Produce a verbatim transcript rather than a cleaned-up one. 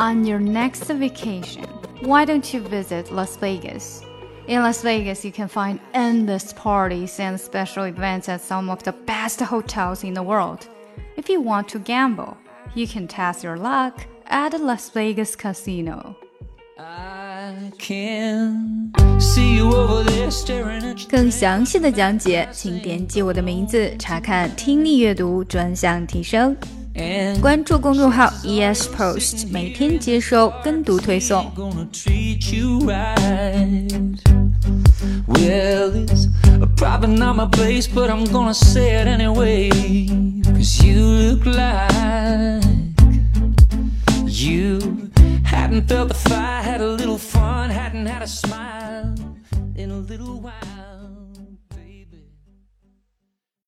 On your next vacation, why don't you visit Las Vegas? In Las Vegas, you can find endless parties and special events at some of the best hotels in the world. If you want to gamble, you can test your luck at the Las Vegas Casino. I can see you over there staring at you. 更详细的讲解，请点击我的名字查看听力阅读专项提升。关注公众号 E S Post， 每天接收跟读推送。 Well, it's probably not my place, but I'm gonna say it anyway. Cause you look like you hadn't felt the fire, had a little fun, hadn't had a smile in a little while.